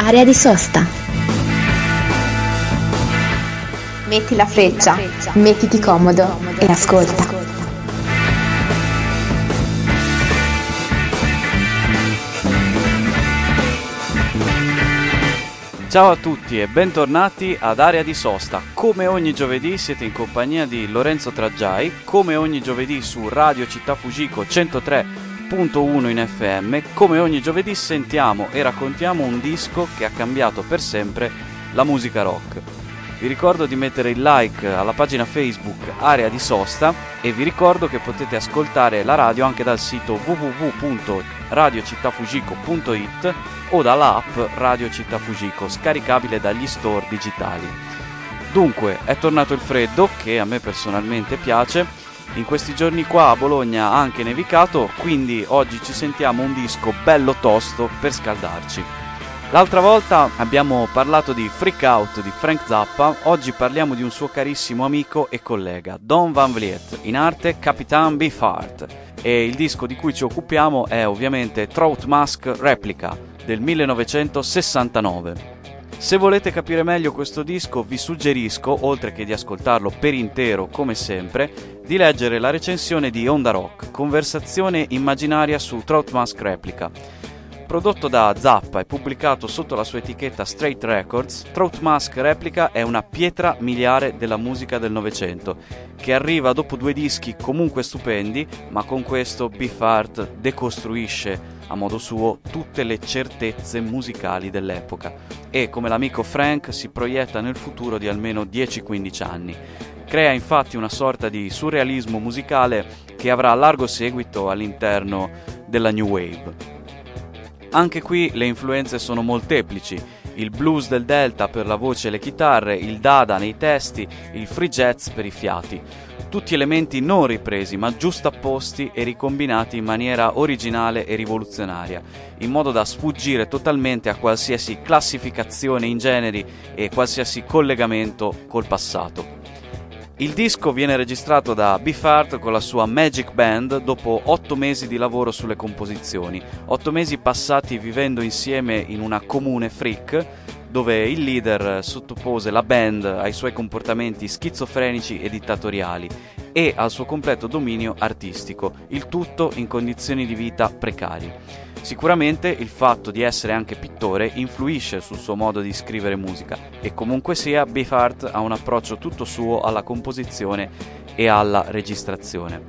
Area di sosta. Metti la freccia, mettiti comodo e ascolta. Ciao a tutti e bentornati ad Area di Sosta. Come ogni giovedì siete in compagnia di Lorenzo Traggiai, come ogni giovedì su Radio Città Fujiko 103.1 in FM, come ogni giovedì sentiamo e raccontiamo un disco che ha cambiato per sempre la musica rock. Vi ricordo di mettere il like alla pagina Facebook Area di Sosta e vi ricordo che potete ascoltare la radio anche dal sito www.radiocittafujiko.it o dalla app Radio Città Fujiko, scaricabile dagli store digitali. Dunque, è tornato il freddo, che a me personalmente piace. In questi giorni qua a Bologna ha anche nevicato, quindi oggi ci sentiamo un disco bello tosto per scaldarci. L'altra volta abbiamo parlato di Freak Out di Frank Zappa, oggi parliamo di un suo carissimo amico e collega, Don Van Vliet, in arte Capitan Beefheart, e il disco di cui ci occupiamo è ovviamente Throat Mask Replica del 1969. Se volete capire meglio questo disco vi suggerisco, oltre che di ascoltarlo per intero come sempre, di leggere la recensione di Onda Rock, conversazione immaginaria su Throat Mask Replica. Prodotto da Zappa e pubblicato sotto la sua etichetta Straight Records, Throat Mask Replica è una pietra miliare della musica del Novecento, che arriva dopo 2 dischi comunque stupendi, ma con questo Beefheart decostruisce a modo suo tutte le certezze musicali dell'epoca e, come l'amico Frank, si proietta nel futuro di almeno 10-15 anni. Crea infatti una sorta di surrealismo musicale che avrà largo seguito all'interno della New Wave. Anche qui le influenze sono molteplici, il blues del Delta per la voce e le chitarre, il dada nei testi, il free jazz per i fiati. Tutti elementi non ripresi ma giustapposti e ricombinati in maniera originale e rivoluzionaria, in modo da sfuggire totalmente a qualsiasi classificazione in generi e qualsiasi collegamento col passato. Il disco viene registrato da Beefheart con la sua Magic Band dopo 8 mesi di lavoro sulle composizioni, 8 mesi passati vivendo insieme in una comune freak, dove il leader sottopose la band ai suoi comportamenti schizofrenici e dittatoriali e al suo completo dominio artistico, il tutto in condizioni di vita precarie. Sicuramente il fatto di essere anche pittore influisce sul suo modo di scrivere musica e comunque sia Beefheart ha un approccio tutto suo alla composizione e alla registrazione.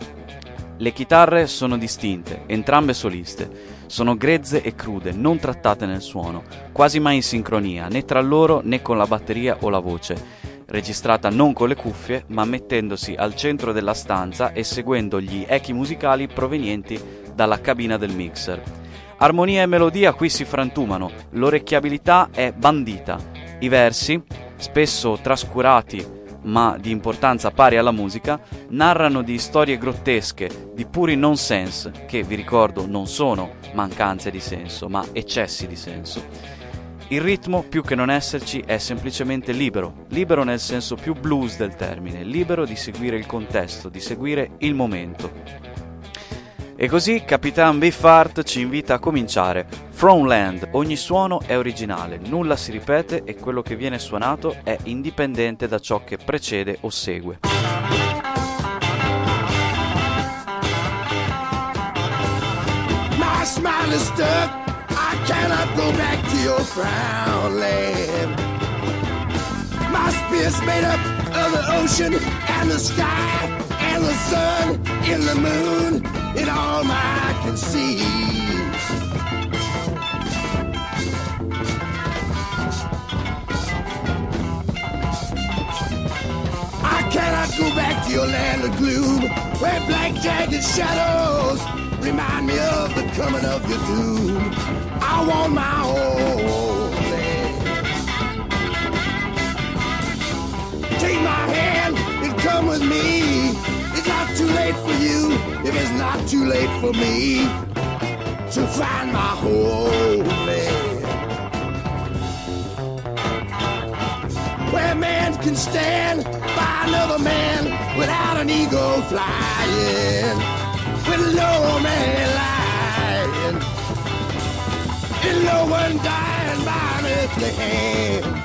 Le chitarre sono distinte, entrambe soliste, sono grezze e crude, non trattate nel suono, quasi mai in sincronia, né tra loro né con la batteria o la voce, registrata non con le cuffie ma mettendosi al centro della stanza e seguendo gli echi musicali provenienti dalla cabina del mixer. Armonia e melodia qui si frantumano, l'orecchiabilità è bandita. I versi, spesso trascurati ma di importanza pari alla musica, narrano di storie grottesche, di puri nonsense, che vi ricordo non sono mancanze di senso, ma eccessi di senso. Il ritmo, più che non esserci, è semplicemente libero, libero nel senso più blues del termine, libero di seguire il contesto, di seguire il momento. E così Capitan Beefheart ci invita a cominciare. From Land, ogni suono è originale, nulla si ripete e quello che viene suonato è indipendente da ciò che precede o segue. My smile is stuck, I cannot go back to your frown land. My spirit's made up of the ocean and the sky and the sun and the moon and all I can see. I cannot go back to your land of gloom, where black jagged shadows remind me of the coming of your doom. I want my own land. Take my hand and come with me. It's not too late for you if it's not too late for me to find my homeland, where man can stand by another man without an ego flying, with no man lying, and no one dying by earthly hand.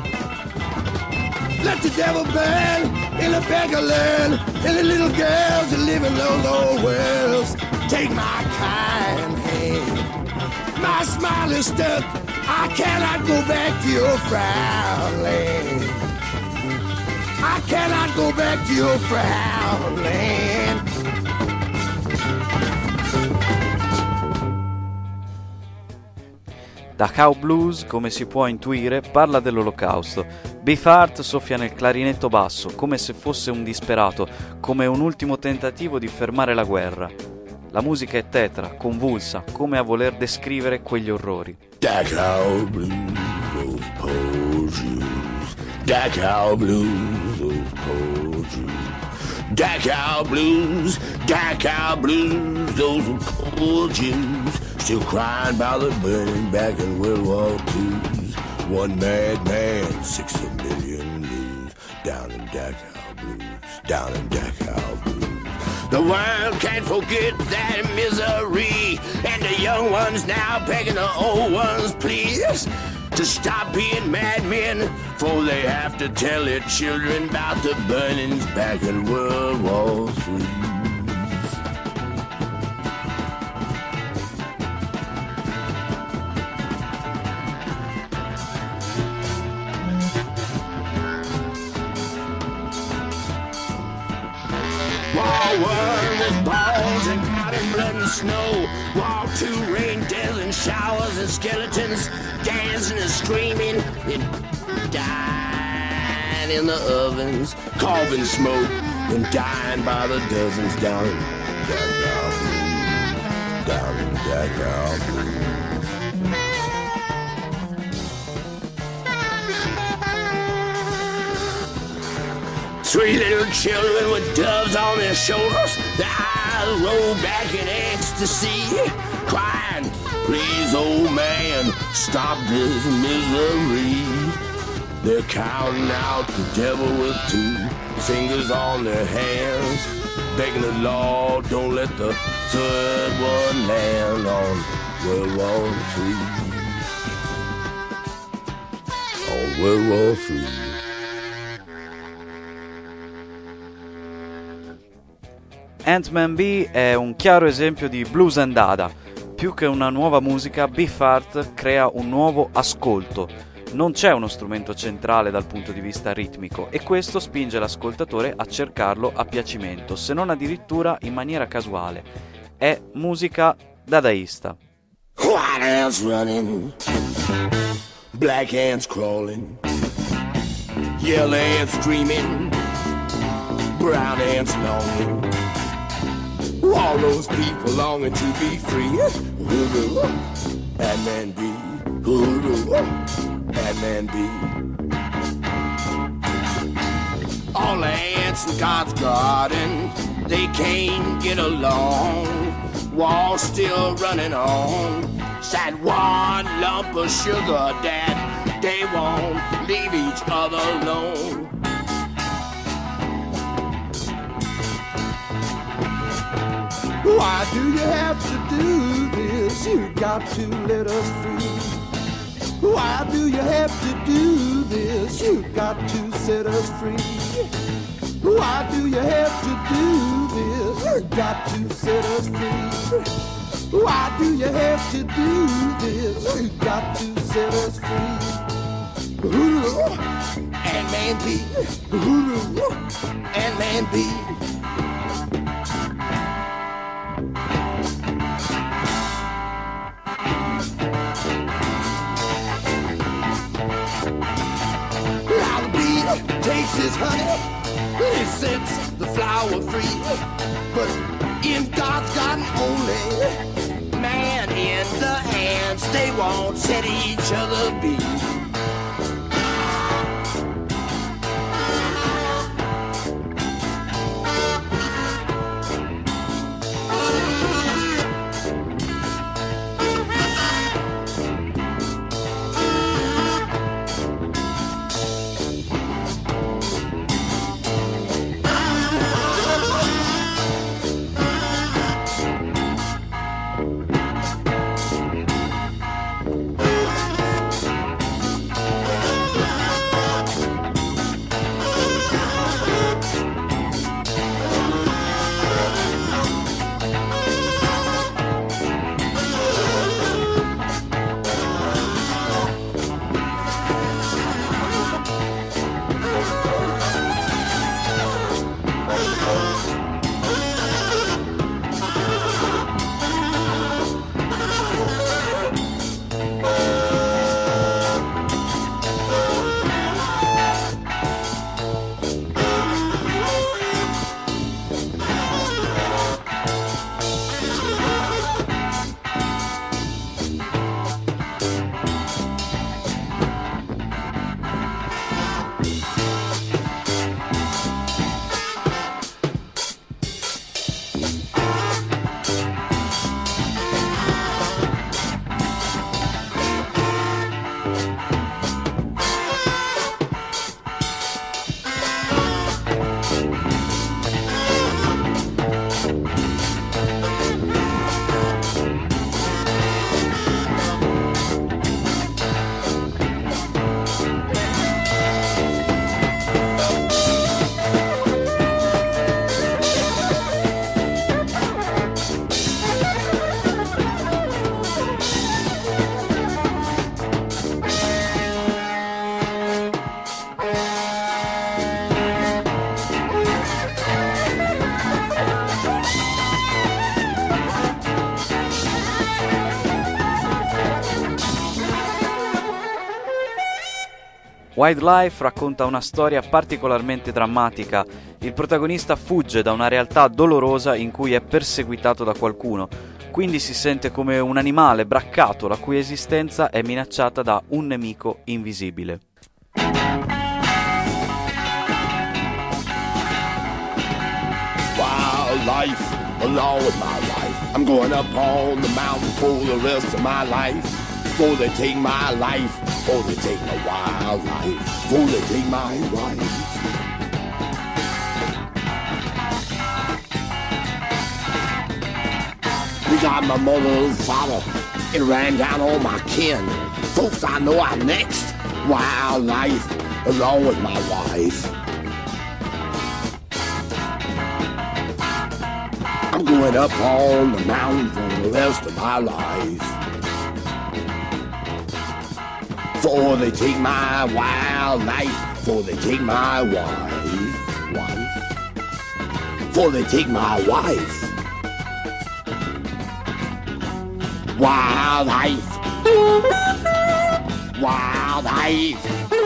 Let the devil burn in the beggar land, and the little girls that live in those old worlds. Take my kind hand. My smile is stuck. I cannot go back to your frown land. I cannot go back to your frown land. Dachau Blues, come si può intuire, parla dell'olocausto. Beefheart soffia nel clarinetto basso, come se fosse un disperato, come un ultimo tentativo di fermare la guerra. La musica è tetra, convulsa, come a voler descrivere quegli orrori. Dachau Blues, those poor Jews. Dachau Blues, those poor Jews. Dachau Blues, those poor Jews. Still crying about the burning back in World War II. One mad man, 6 million lose. Down in Dachau Blues, down in Dachau Blues. The world can't forget that misery, and the young ones now begging the old ones, please, to stop being madmen, for they have to tell their children about the burnings back in World War III. One with balls and cotton blood and snow. Wall 2 rain, death and showers and skeletons dancing and screaming and dying in the ovens, coughing smoke and dying by the dozens down in Dachau Blues, down in Dachau Blues. Three little children with doves on their shoulders, their eyes roll back in ecstasy, crying, please, old man, stop this misery. They're counting out the devil with 2 fingers on their hands, begging the Lord, don't let the third one land on World War III. On World War III. Ant-Man B è un chiaro esempio di blues and dada. Più che una nuova musica, Beefheart crea un nuovo ascolto. Non c'è uno strumento centrale dal punto di vista ritmico e questo spinge l'ascoltatore a cercarlo a piacimento, se non addirittura in maniera casuale. È musica dadaista. White ants running, black ants crawling, yellow ants screaming, brown ants longing. All those people longing to be free. Ant-Man B, Ant-Man B. All the ants in God's garden, they can't get along. War's still running on. Sad one lump of sugar that they won't leave each other alone. Why do you have to do this? You got to let us free. Why do you have to do this? You got to set us free. Why do you have to do this? You got to set us free. Why do you have to do this? You got to set us free. Ant-Man B, Ant-Man B. Takes his honey, he sets the flower free. But in God's garden only, man in the ants, they won't set each other be. Wildlife racconta una storia particolarmente drammatica. Il protagonista fugge da una realtà dolorosa in cui è perseguitato da qualcuno, quindi si sente come un animale braccato la cui esistenza è minacciata da un nemico invisibile. Wildlife, along with my life. I'm going up on the mountain for the rest of my life. Before they take my life, before they take my wildlife, before they take my wife. We got my mother and father, it ran down all my kin. Folks, I know I'm next. Wildlife, along with my wife. I'm going up on the mountain for the rest of my life. Before they take my wildlife, before they take my wife. Before they take my wife. Wildlife. Wildlife.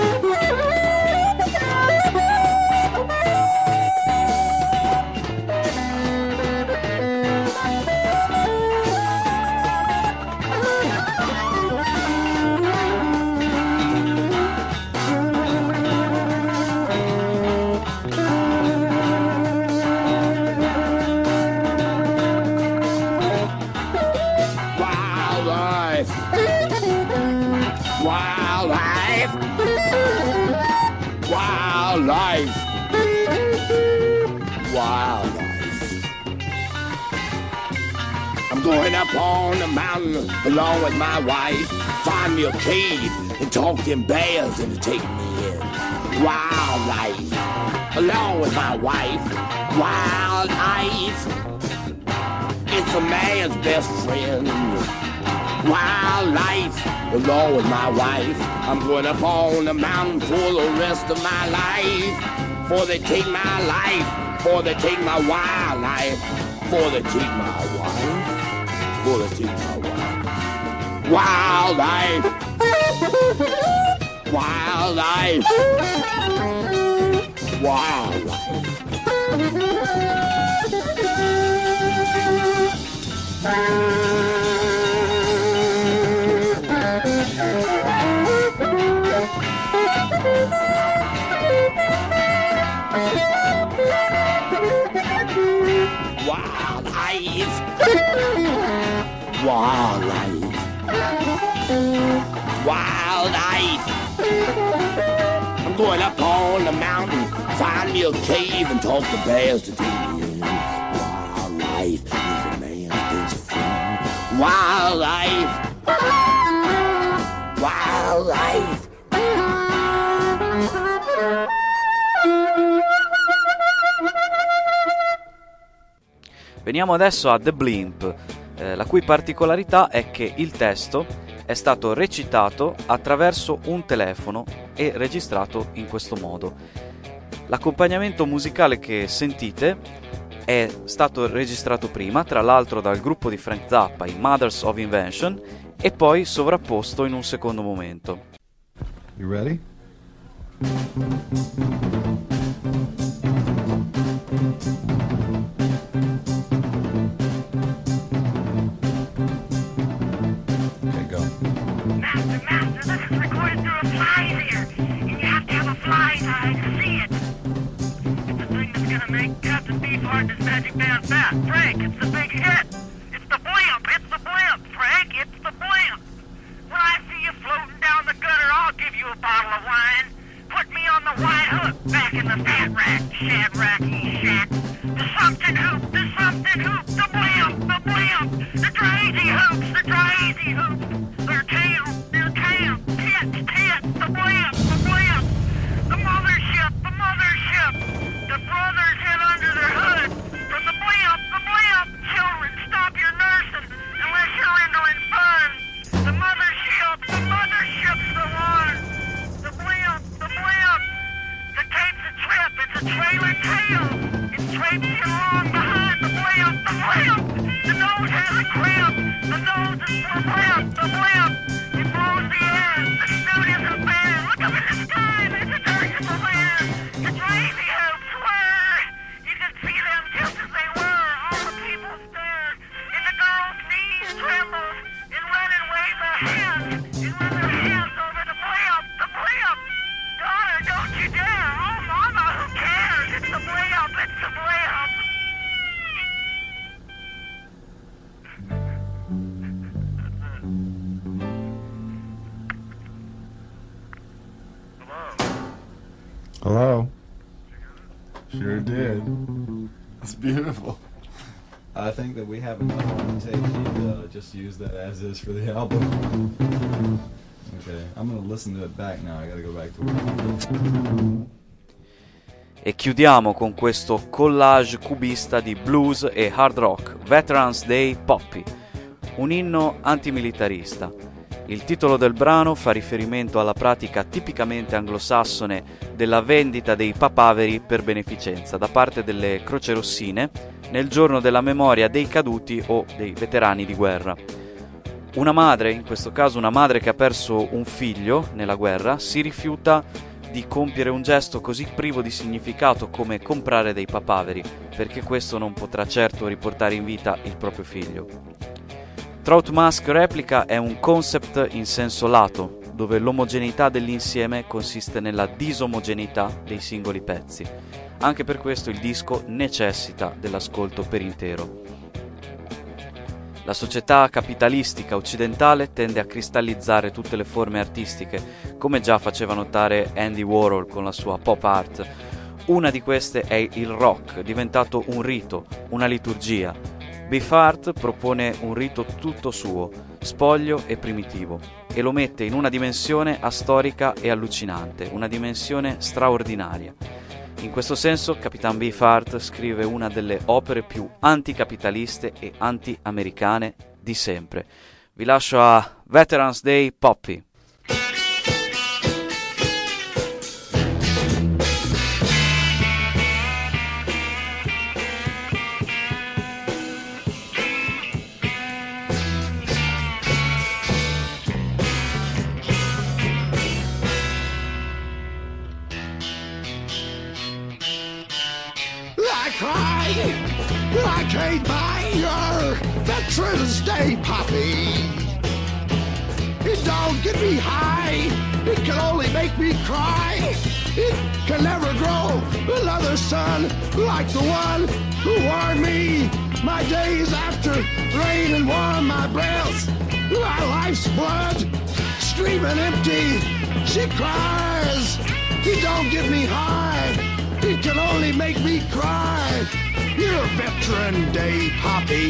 I'm going up on the mountain along with my wife. Find me a cave and talk them bears into taking me in. Wildlife, along with my wife. Wildlife, it's a man's best friend. Wildlife, along with my wife. I'm going up on the mountain for the rest of my life. Before they take my life, before they take my wildlife, before they take my wife, before they take my wife. Wildlife, wildlife, wildlife. Wildlife, wildlife. I'm going up on the mountain, find me a cave and talk to bears to take me in. Wildlife is a man's best friend. Wildlife, wildlife. Veniamo adesso a The Blimp, la cui particolarità è che il testo è stato recitato attraverso un telefono e registrato in questo modo. L'accompagnamento musicale che sentite è stato registrato prima, tra l'altro dal gruppo di Frank Zappa, i Mothers of Invention, e poi sovrapposto in un secondo momento. You ready? Master, this is recorded through a fly ear, and you have to have a fly I see it. It's the thing that's gonna make Captain Beefheart and his magic band fat. Frank, it's the big hit. It's the blimp. It's the blimp, Frank. It's the blimp. When I see you floating down the gutter, I'll give you a bottle of wine. Put me on the white hook back in the fat rack, shadracky shack. The something hoop, the something hoop, the blimp, the blimp. The crazy hoops, the crazy hoops. Their tail, tits, the blimp, the blimp. The mothership, the mothership. The brothers hid under their hood. From the blimp, the blimp. Children, stop your nursing unless you're rendering fun. The mothership's the one. The blimp, the blimp. The tape's a trip, it's a trailer tail. It's traipsing along behind the blimp, the blimp. The nose has a crimp. The nose is the blimp, the blimp. It blows the air. The snoot is a bear. Look up in the sky, there's a dirigible there. The crazy hopes were. You can see them just as they were. All the people stare. And the girl's knees tremble. And running wave a hand. And run their hands over the blimp, the blimp. Daughter, don't you dare. Oh, mama, who cares? It's the blimp, it's the blimp. Hello? Sure did. That's beautiful. I think that we have enough on the tape. We'd just use that as is for the album. Okay, I'm gonna listen to it back now. I gotta go back to work. E chiudiamo con questo collage cubista di blues e hard rock, Veterans Day Poppy, un inno antimilitarista. Il titolo del brano fa riferimento alla pratica tipicamente anglosassone della vendita dei papaveri per beneficenza da parte delle crocerossine nel giorno della memoria dei caduti o dei veterani di guerra. Una madre, in questo caso una madre che ha perso un figlio nella guerra, si rifiuta di compiere un gesto così privo di significato come comprare dei papaveri, perché questo non potrà certo riportare in vita il proprio figlio. Trout Mask Replica è un concept in senso lato, dove l'omogeneità dell'insieme consiste nella disomogeneità dei singoli pezzi. Anche per questo il disco necessita dell'ascolto per intero. La società capitalistica occidentale tende a cristallizzare tutte le forme artistiche, come già faceva notare Andy Warhol con la sua pop art. Una di queste è il rock, diventato un rito, una liturgia. Beefheart propone un rito tutto suo, spoglio e primitivo, e lo mette in una dimensione astorica e allucinante, una dimensione straordinaria. In questo senso, Capitan Beefheart scrive una delle opere più anticapitaliste e anti-americane di sempre. Vi lascio a Veterans Day Poppy. I can't buy your Veterans Day Poppy. It don't get me high, it can only make me cry. It can never grow another son like the one who warmed me my days after rain and warmed my breath. My life's blood streaming empty, she cries. It don't get me high, it can only make me cry. Your Veteran Day Poppy.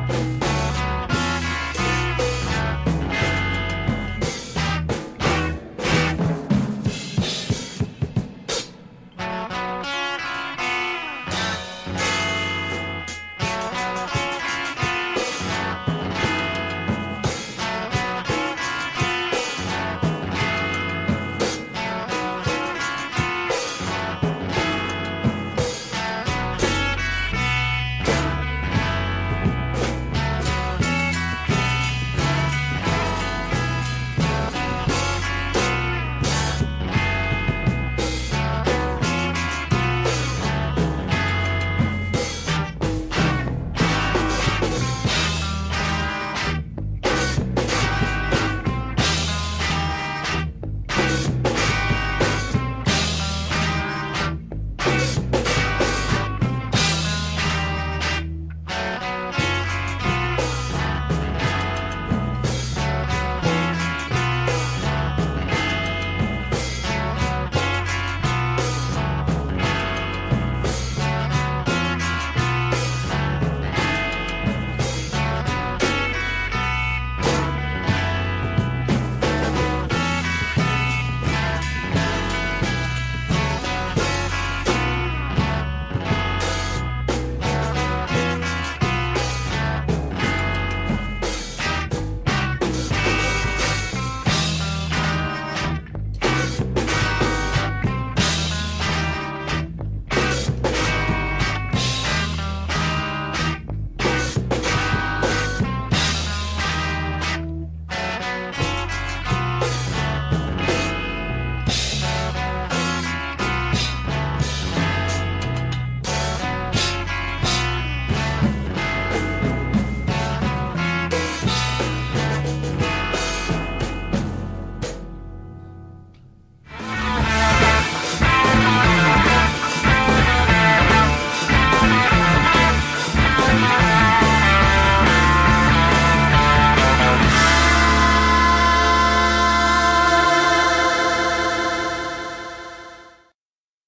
Bye.